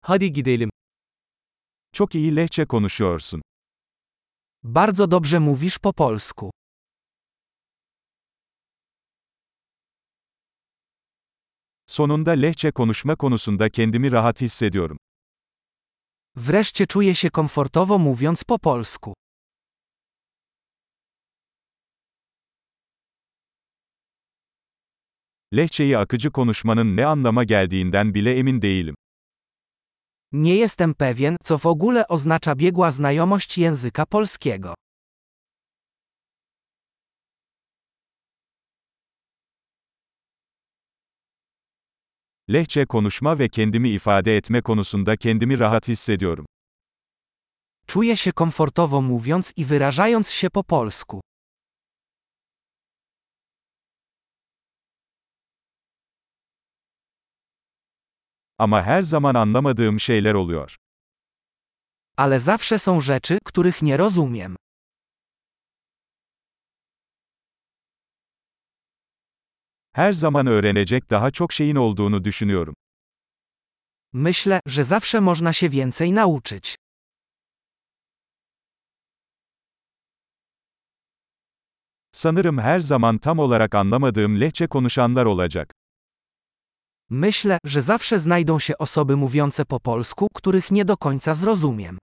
Hadi gidelim. Çok iyi Lehçe konuşuyorsun. Bardzo dobrze mówisz po polsku. Sonunda Lehçe konuşma konusunda kendimi rahat hissediyorum. Wreszcie czuję się komfortowo mówiąc po polsku. Lehçeyi akıcı konuşmanın ne anlama geldiğinden bile emin değilim. Nie jestem pewien, co w ogóle oznacza biegła znajomość języka polskiego. Lehçe konuşma ve kendimi ifade etme konusunda kendimi rahat hissediyorum. Czuję się komfortowo mówiąc i wyrażając się po polsku. Ama her zaman anlamadığım şeyler oluyor. Ale zawsze są rzeczy, których nie rozumiem. Her zaman öğrenecek daha çok şeyin olduğunu düşünüyorum. Myślę, że zawsze można się więcej nauczyć. Sanırım her zaman tam olarak anlamadığım Lehçe konuşanlar olacak. Myślę, że zawsze znajdą się osoby mówiące po polsku, których nie do końca zrozumiem.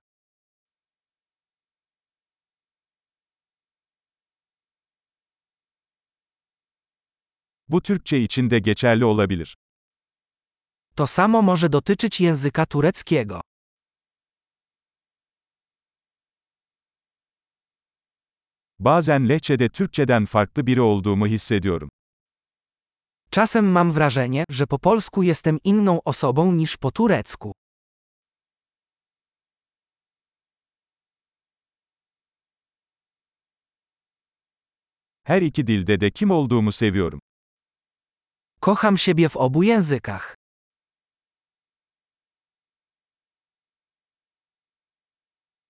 Bu Türkçe için de geçerli olabilir. To samo może dotyczyć języka tureckiego. Bazen Lehçe'de Türkçeden farklı biri olduğumu hissediyorum. Czasem mam wrażenie, że po polsku jestem inną osobą niż po turecku. Her iki dilde de kim olduğumu seviyorum. Kocham siebie w obu językach.